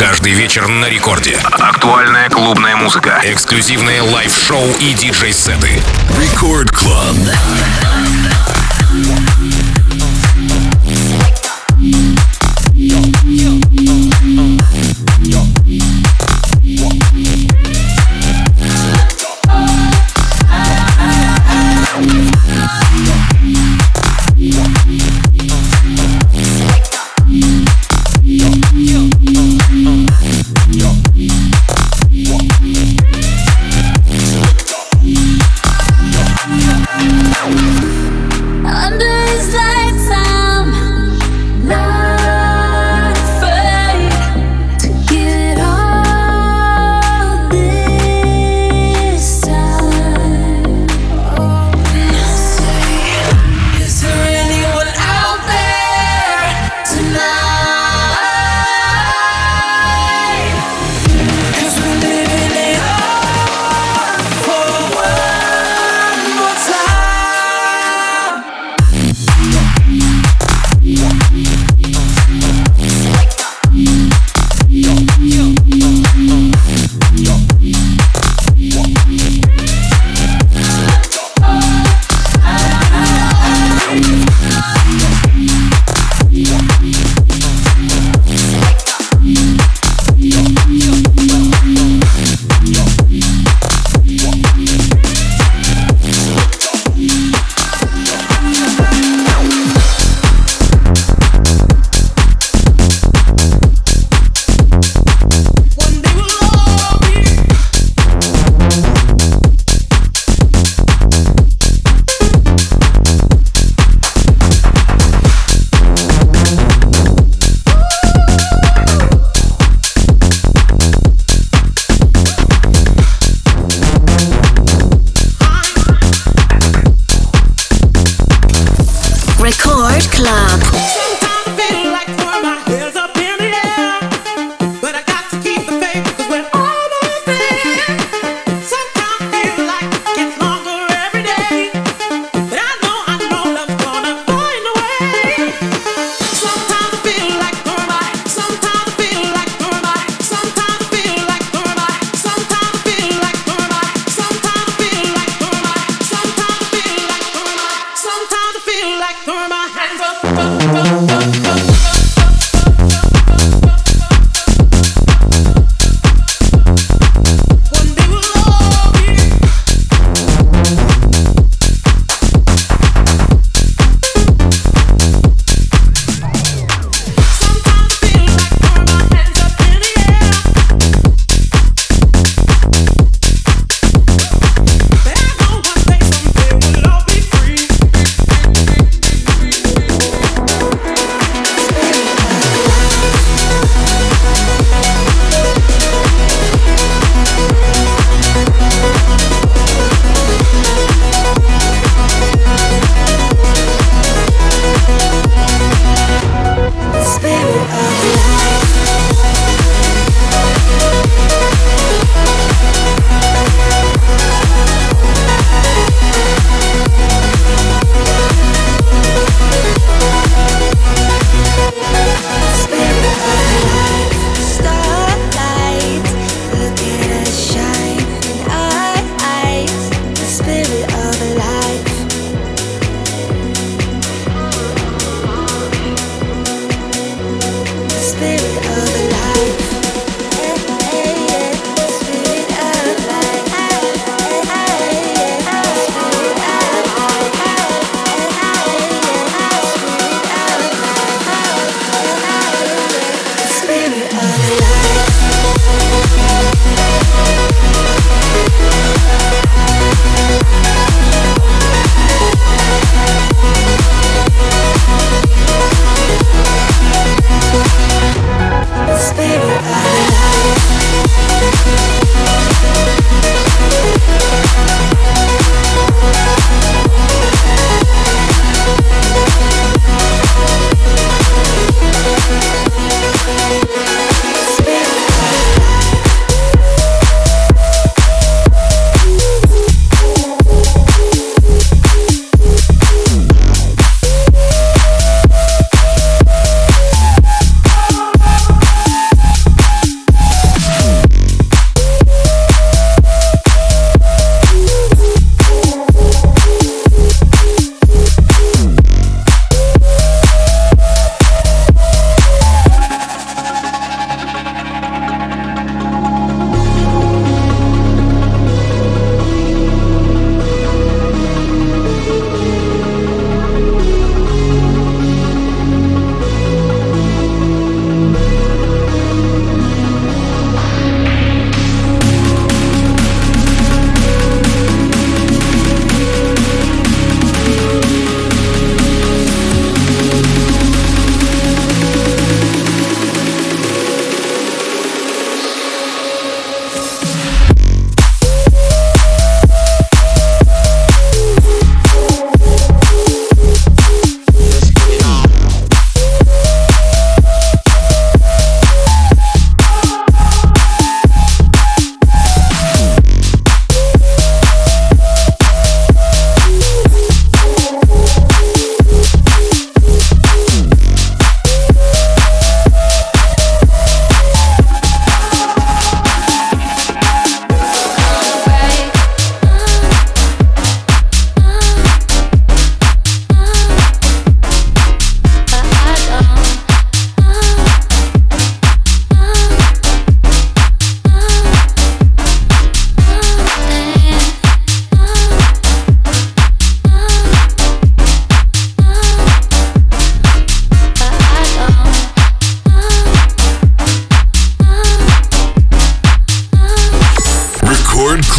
Каждый вечер на рекорде. Актуальная клубная музыка. Эксклюзивные лайв-шоу и диджей-сеты. Рекорд Клаб. Under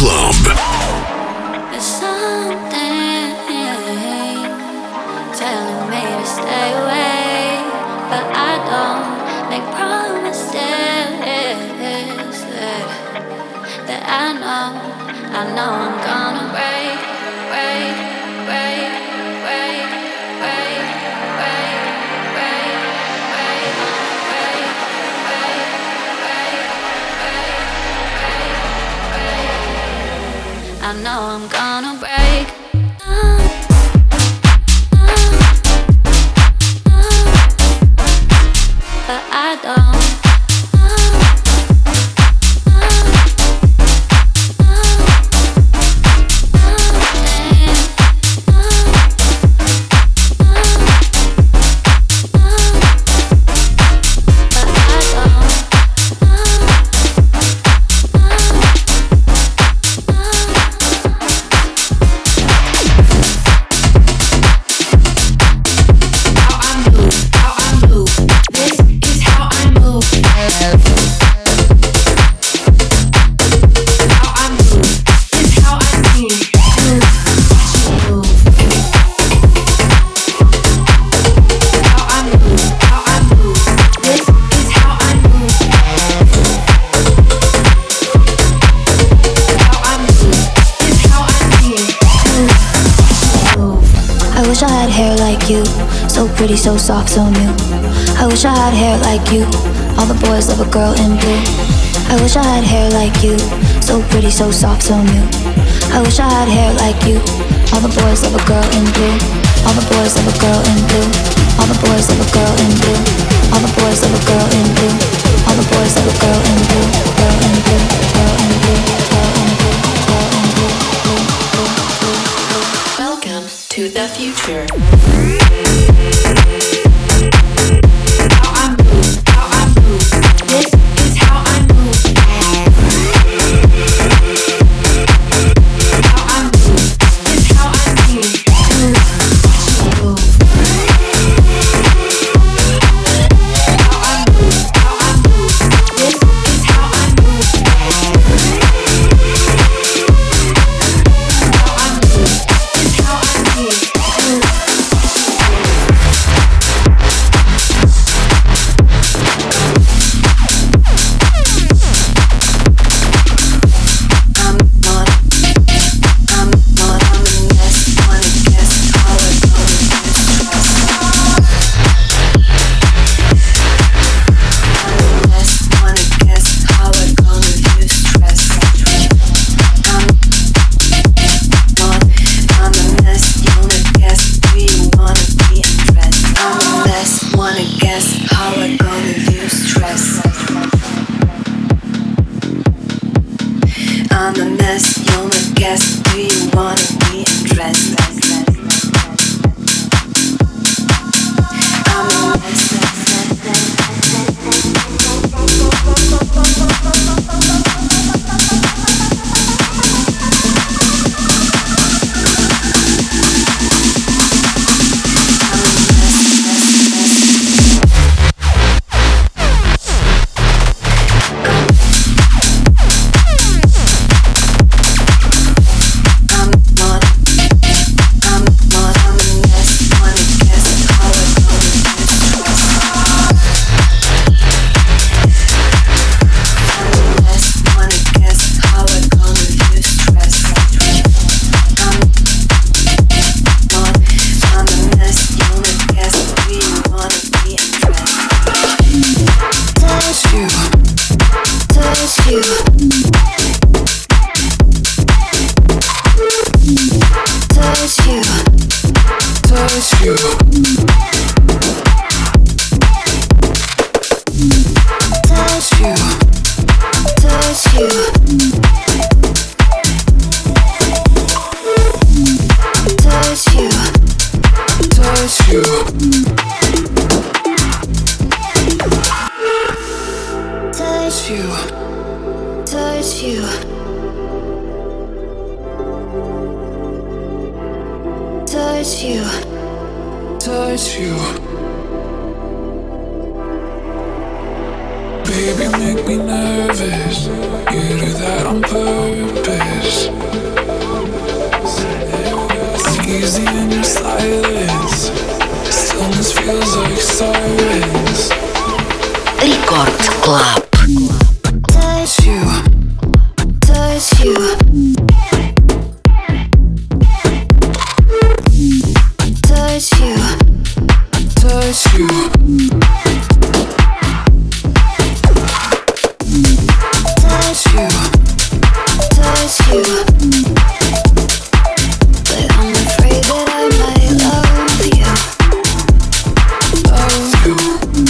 Club. There's something telling me to stay away, but I don't make promises that I know I'm gonna break, break, break, break, break, break, break, break, break, break, break, break, break. I know I'm gonna break. But I don't. Pretty, so soft, so new. I wish I had hair like you. All the boys love a girl in blue. I wish I had hair like you. So pretty, so soft, so new. I wish I had hair like you. All the boys love a girl in blue. All the boys love a girl in blue. All the boys love a girl in blue. All the boys love a girl in blue. All the boys love a girl in blue. Girl in blue. Girl in blue. Girl in blue. Girl in blue. Welcome to the future. Baby, make me nervous. You do that on purpose. It's easy in your silence. Stillness feels like silence. Рекорд Клаб. Touch you, touch you. Touch you, Touch you. touch you, touch you. But I'm afraid that I might love you. Love you.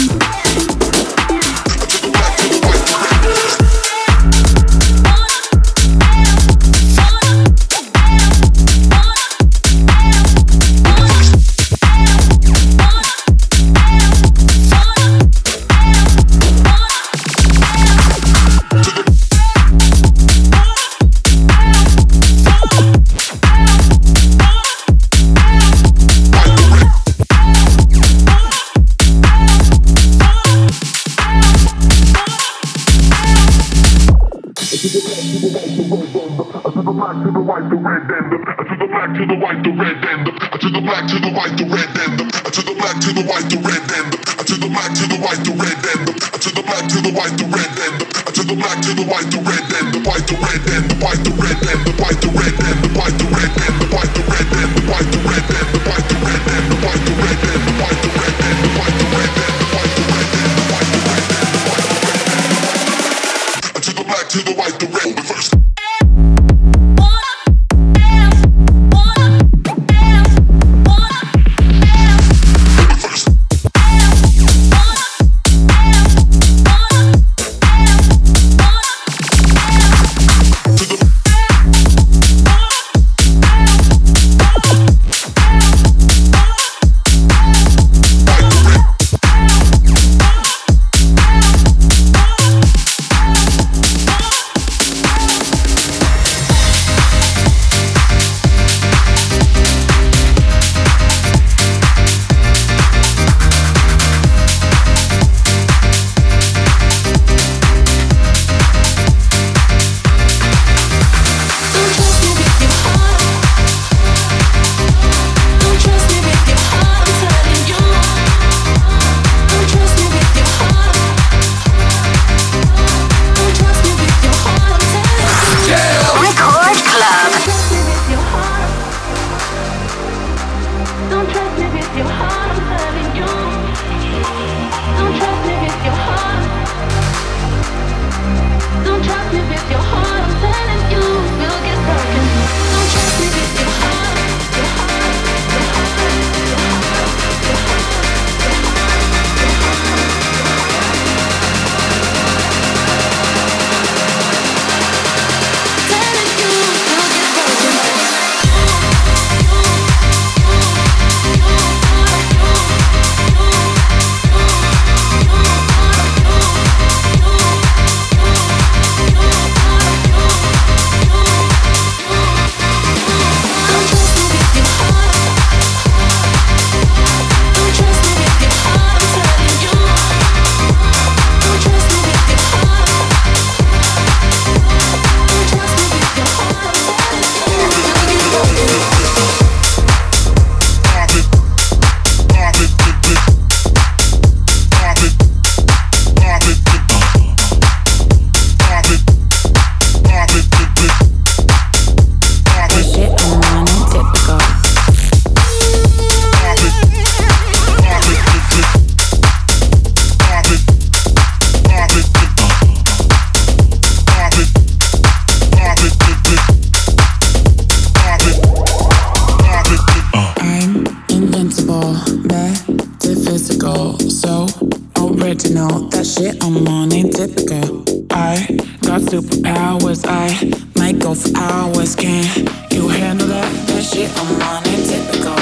original. That shit I'm on ain't typical. I got superpowers. I might go for hours. Can you handle that? That shit I'm on ain't typical.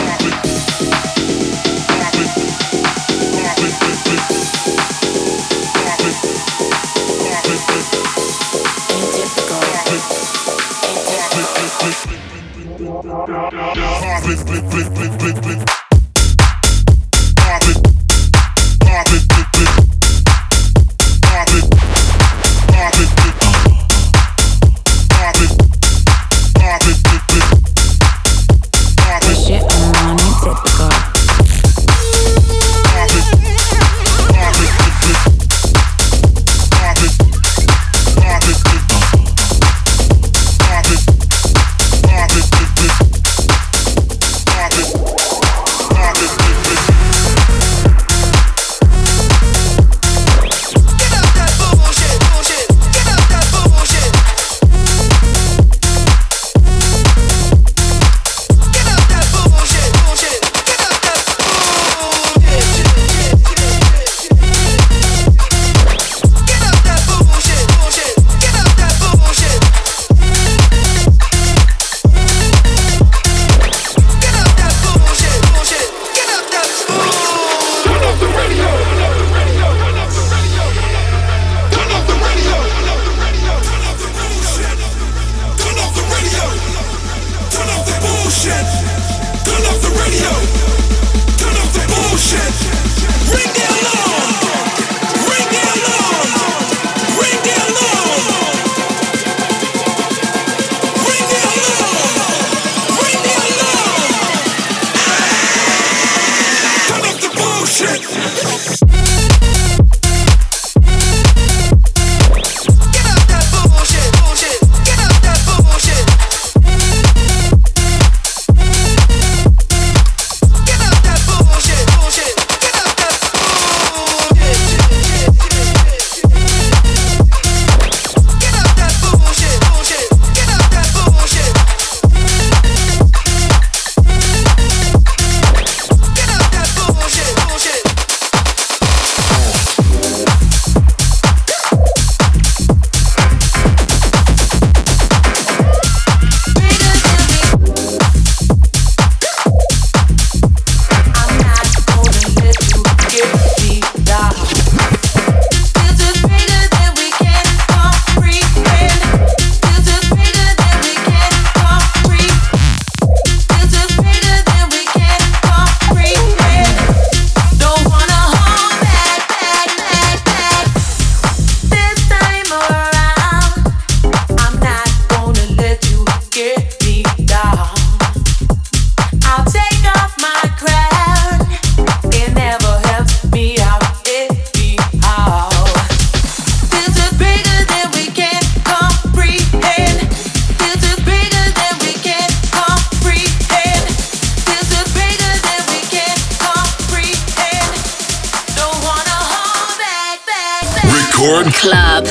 Record Club.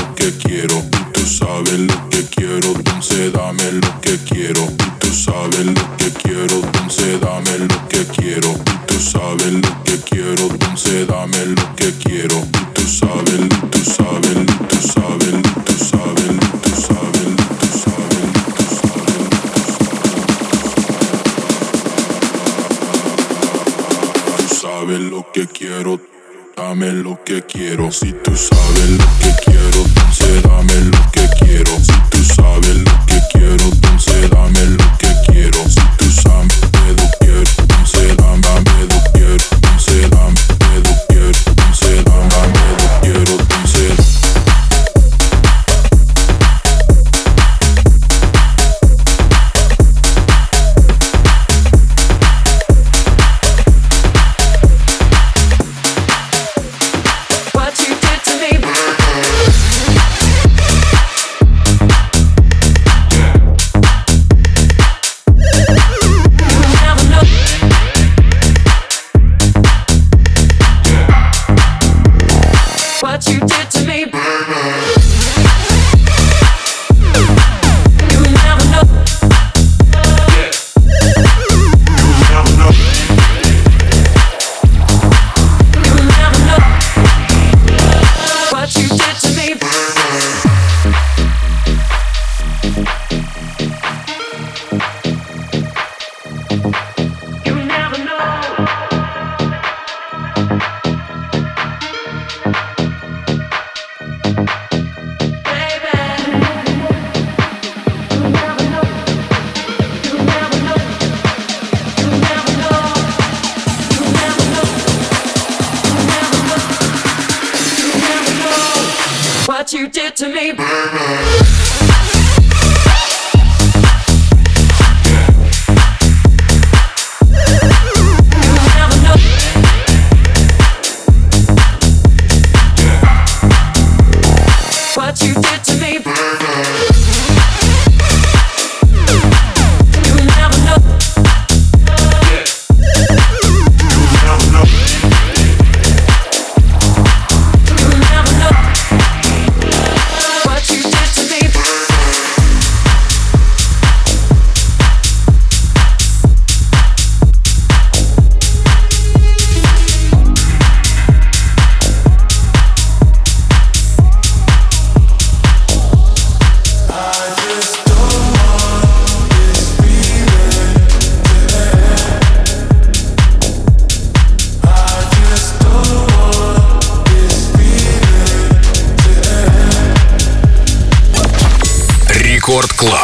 lo que quiero. Y tú sabes lo que quiero, entonces dame lo que quiero. Y tú sabes lo que quiero, entonces dame lo que quiero. Y tú sabes lo que quiero, entonces dame lo que quiero. Y tú sabes, tú sabes, tú sabes, tú sabes, tú sabes, tú sabes, tú sabes. Tú sabes lo que quiero, dame lo que quiero. Si tú sabes lo que quiero, entonces dame lo que quiero. Si tú sabes lo que quiero, entonces dame lo que quiero. Si tú sabes lo que quiero, entonces dame lo que quiero. Entonces dame lo que quiero, entonces dame lo que quiero, entonces. What you did to me. Рекорд Клаб.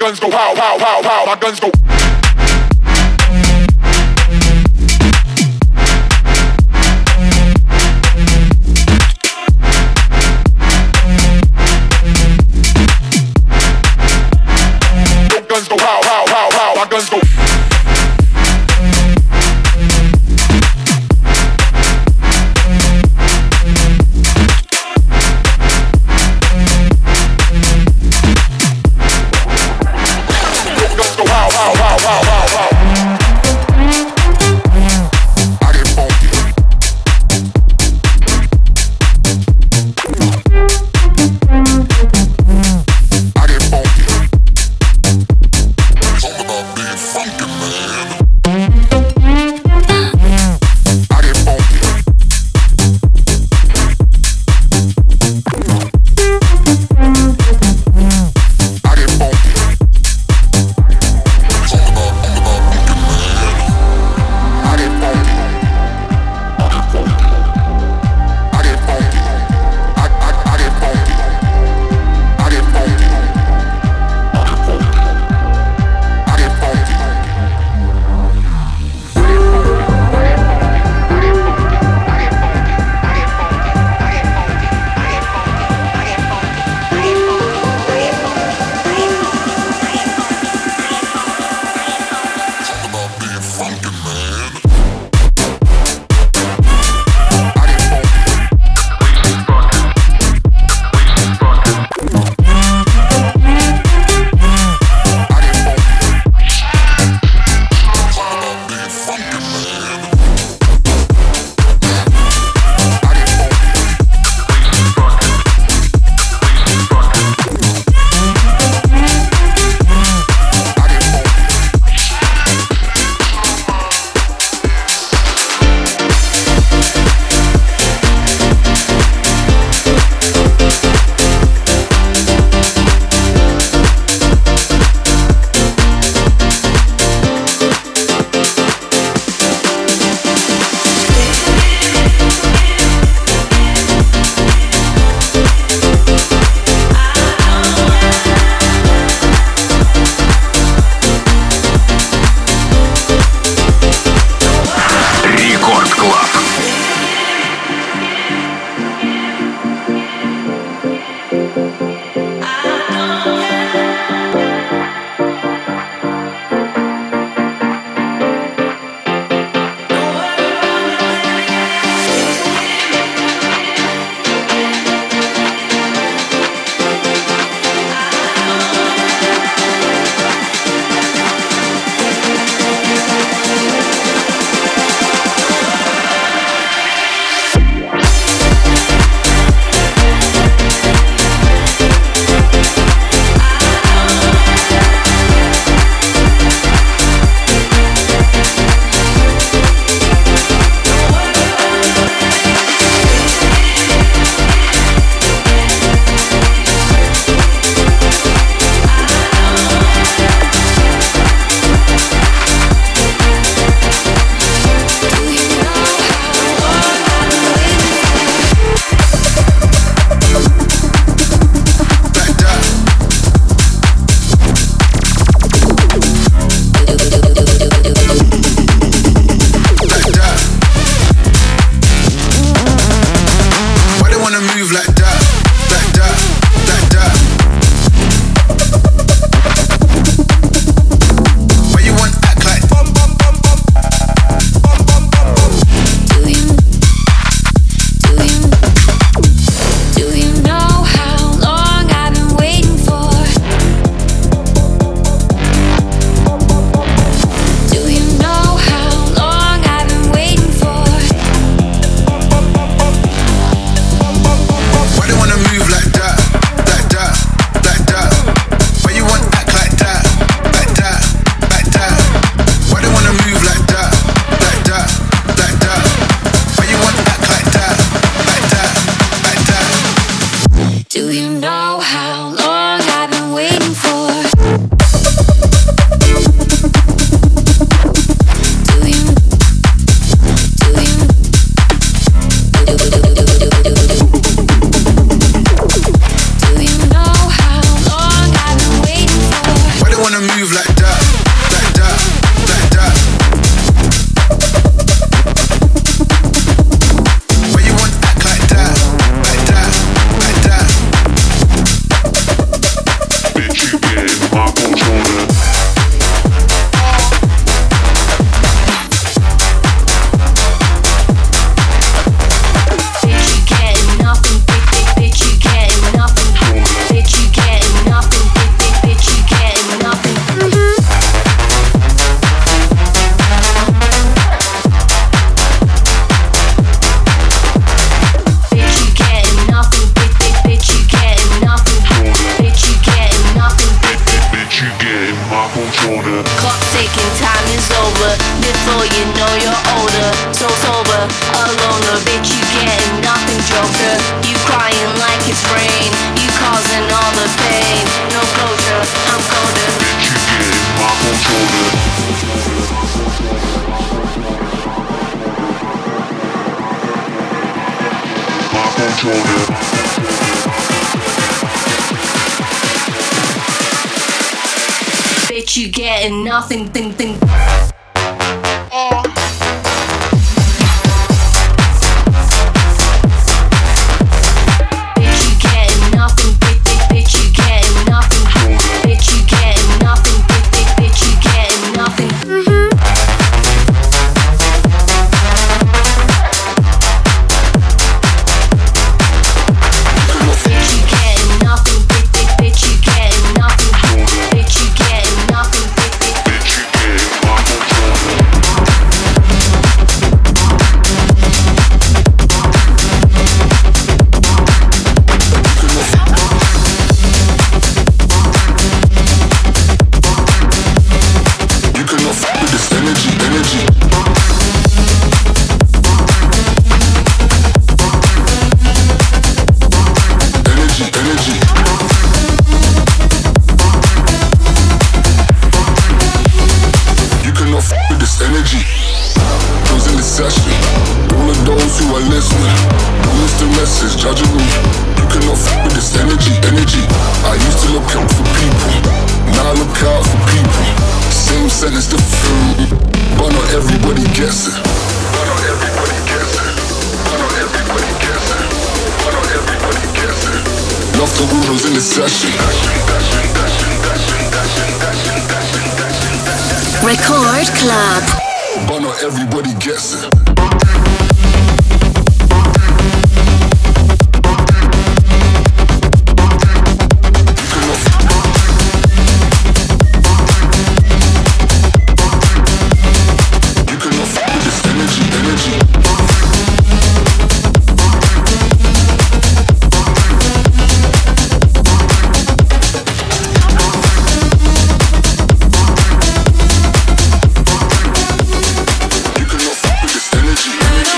guns go pow, pow, pow, pow. My guns go. Guns go pow, pow, pow, pow. My guns go. Guns go pow, pow, pow, pow. Bitch, you getting nothing, thing, thing. Record Club. But not everybody gets it. Energy.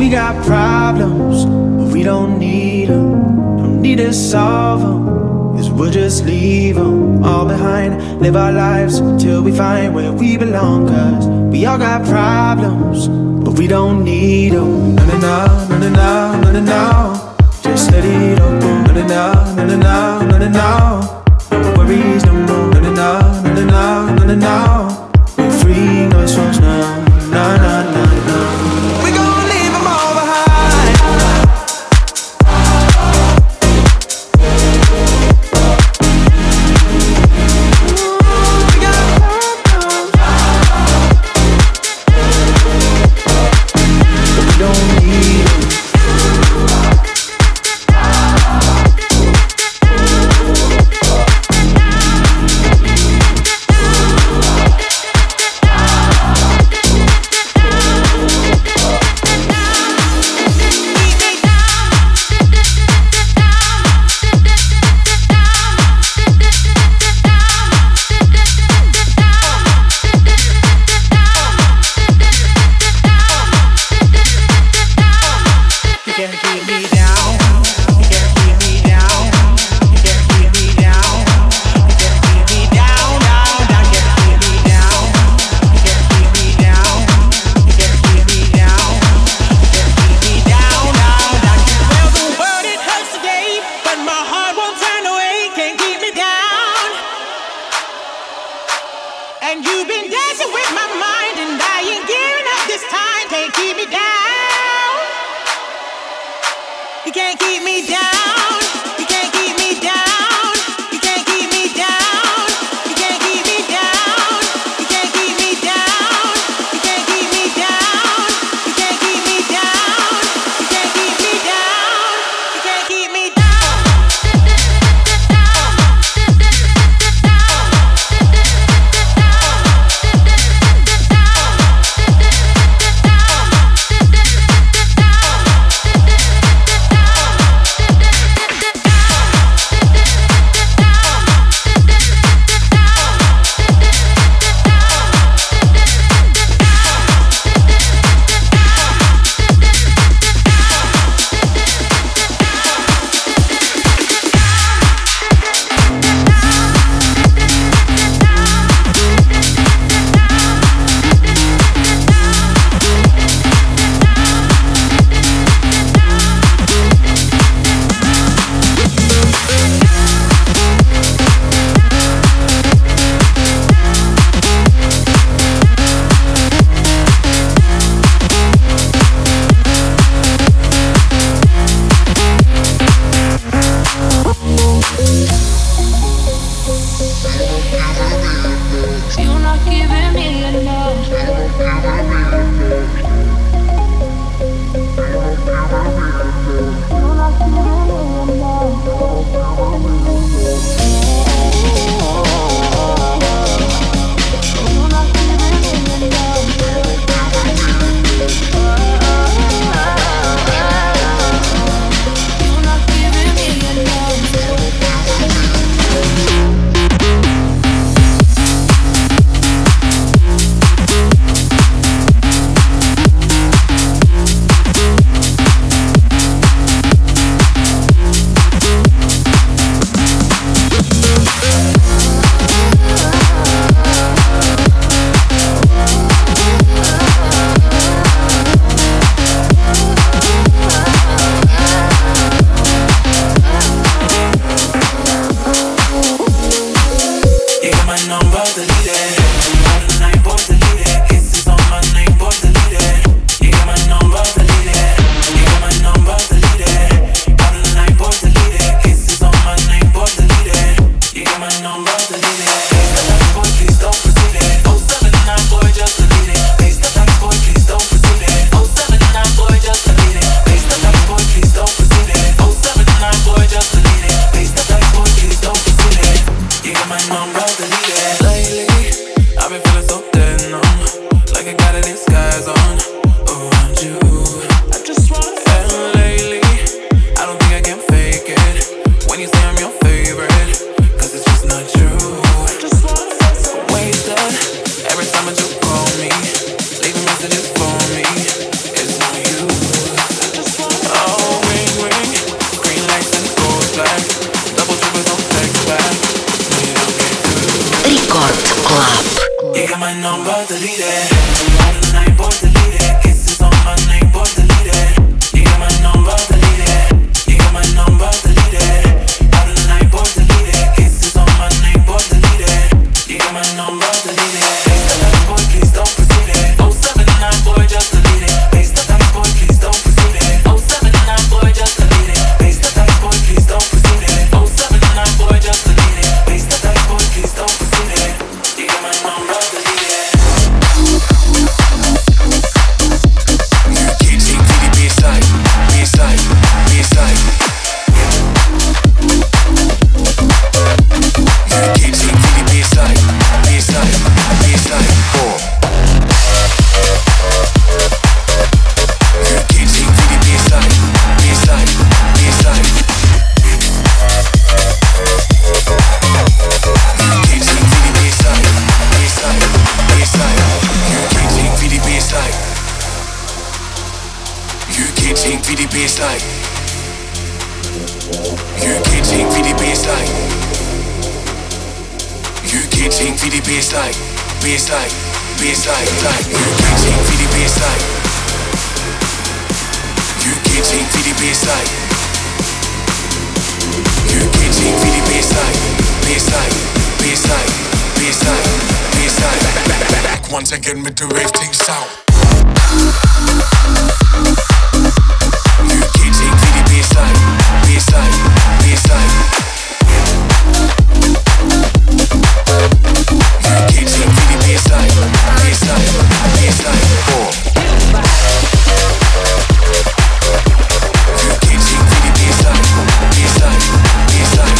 We got problems, but we don't need them. Don't need to solve them, 'cause we'll just leave them all behind. Live our lives till we find where we belong. 'Cause we all got problems, but we don't need them. No, no, no, no, no, no, no, no, no. Just let it all go. No, no, no, no, no, no, no, no, no. No worries no more. No, no, no, no, no, no, no, no, no. We're free, no songs now. No, no, no, no. We gon' leave them all behind. We got problems, but we don't need them. number, delete it. Out of the night, boy, delete it. Kisses on my name, boy, delete it. You got my number, delete it. You got my number, delete it. Out of the night, boy, delete it. Kisses on my name, boy, delete it. You got my number, delete it. Face the facts, boy, please don't proceed it. 079, boy, just delete it. Face the facts, boy, please don't proceed it. 079, boy, just delete it. Face the facts, boy, please don't proceed it. 079, boy, just delete it. Face the facts, boy, please don't proceed it. You got my number, delete it. You can't take to the baseline, baseline, baseline. You can't take to the baseline, baseline, baseline. You can't take to the baseline, baseline, baseline. You can't take to the baseline, baseline, baseline. You can't take to the baseline. You can't take to the baseline. You can't take to the baseline. You can't take to the baseline, baseline, baseline, line. You can't take to the baseline. You can't take to the baseline. You can't take to the baseline, baseline, baseline, baseline, baseline. Back once again with the rave thing sound. You can't take to the baseline, baseline, baseline. You can't take to the baseline, baseline, baseline. You can't take to the baseline, baseline, baseline.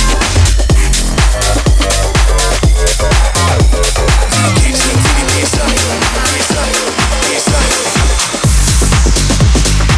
You can't take to the baseline, baseline, baseline.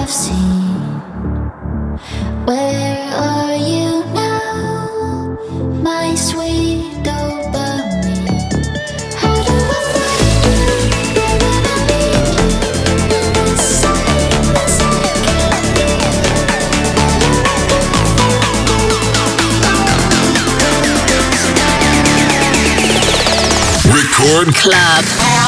I've seen. Where are you now, my sweet dopamine? How do I find you when I need you inside this Record Club.